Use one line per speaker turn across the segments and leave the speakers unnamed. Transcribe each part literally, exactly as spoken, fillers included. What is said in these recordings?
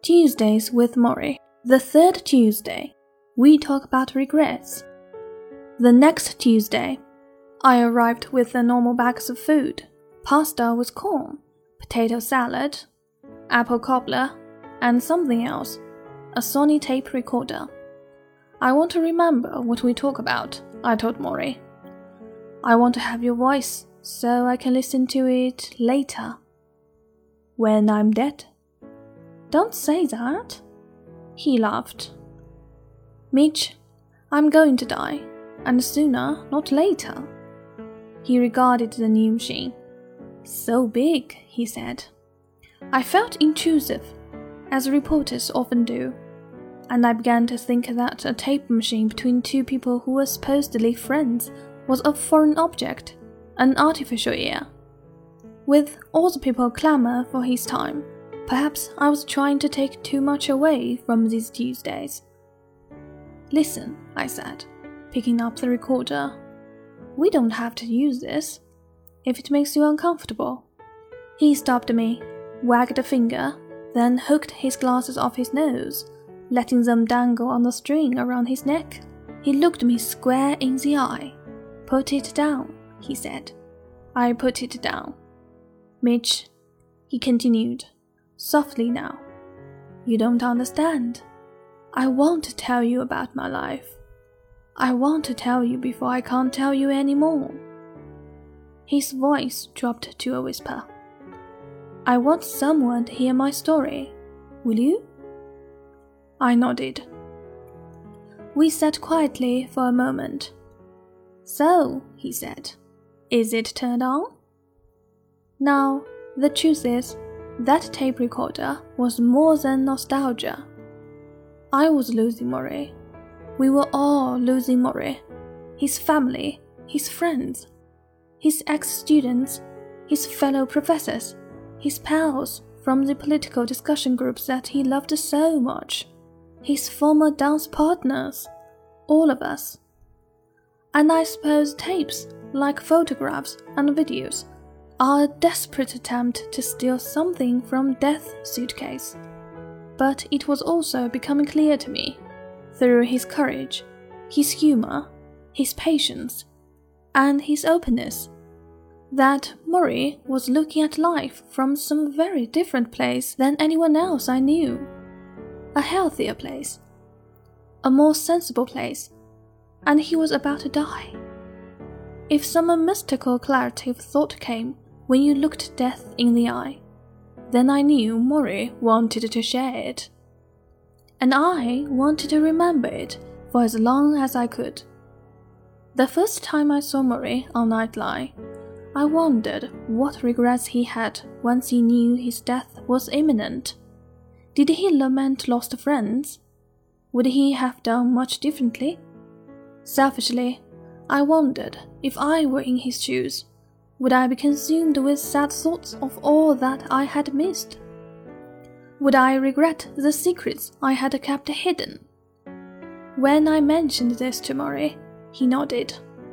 Tuesdays with Maury. The third Tuesday, we talk about regrets. The next Tuesday, I arrived with the normal bags of food, pasta with corn, potato salad, apple cobbler, and something else, a Sony tape recorder. I want to remember what we talk about, I told Maury. I want to have your voice so I can listen to it later. When I'm dead. Don't say that. He laughed. Mitch, I'm going to die, and sooner, not later. He regarded the new machine. So big, he said. I felt intrusive, as reporters often do, and I began to think that a tape machine between two people who were supposedly friends was a foreign object, an artificial ear. With all the people clamour for his time, perhaps I was trying to take too much away from these Tuesdays. Listen, I said, picking up the recorder. We don't have to use this, if it makes you uncomfortable. He stopped me, wagged a finger, then hooked his glasses off his nose, letting them dangle on the string around his neck. He looked me square in the eye. Put it down, he said. I put it down. Mitch, he continued, softly now. You don't understand. I want to tell you about my life. I want to tell you before I can't tell you anymore. His voice dropped to a whisper. I want someone to hear my story. Will you? I nodded. We sat quietly for a moment. So, he said, is it turned on? Now, the truth is, that tape recorder was more than nostalgia. I was losing Maury. We were all losing Maury. His family, his friends, his ex-students, his fellow professors, his pals from the political discussion groups that he loved so much, his former dance partners, all of us. And I suppose tapes, like photographs and videos, are a desperate attempt to steal something from Death's suitcase. But it was also becoming clear to me, through his courage, his humor, his patience, and his openness, that Maury was looking at life from some very different place than anyone else I knew. A healthier place, a more sensible place, and he was about to die. If some mystical clarity of thought came when you looked death in the eye, then I knew Maury wanted to share it. And I wanted to remember it for as long as I could. The first time I saw Maury on Nightline, I wondered what regrets he had once he knew his death was imminent. Did he lament lost friends? Would he have done much differently? Selfishly, I wondered if I were in his shoes, would I be consumed with sad thoughts of all that I had missed? Would I regret the secrets I had kept hidden? When I mentioned this to Maury, he nodded.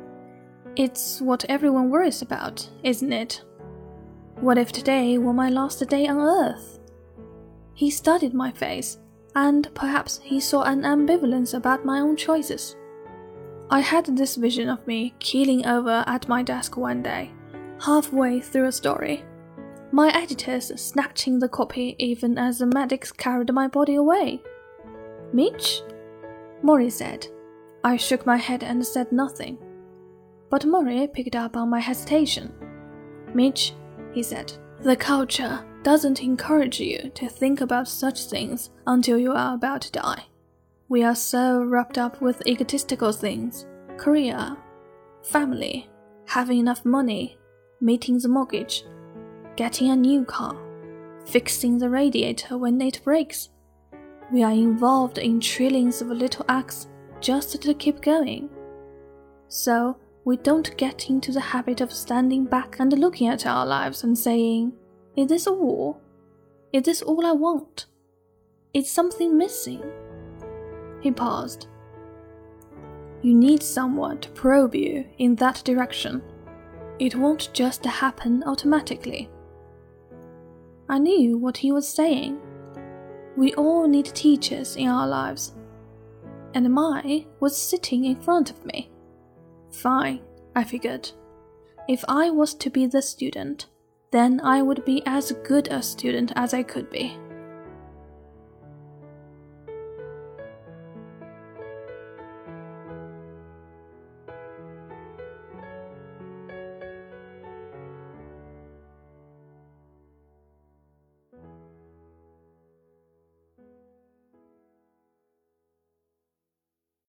It's what everyone worries about, isn't it? What if today were my last day on Earth? He studied my face, and perhaps he saw an ambivalence about my own choices. I had this vision of me keeling over at my desk one day, halfway through a story, my editors snatching the copy even as the medics carried my body away. Mitch? Maury said. I shook my head and said nothing. But Maury picked up on my hesitation. Mitch, he said, the culture doesn't encourage you to think about such things until you are about to die. We are so wrapped up with egotistical things, career, family, having enough money, meeting the mortgage, getting a new car, fixing the radiator when it breaks. We are involved in trillions of little acts just to keep going. So we don't get into the habit of standing back and looking at our lives and saying, is this all? Is this all I want? Is something missing? He paused. You need someone to probe you in that direction. It won't just happen automatically. I knew what he was saying. We all need teachers in our lives. And mine was sitting in front of me. Fine, I figured. If I was to be the student, then I would be as good a student as I could be.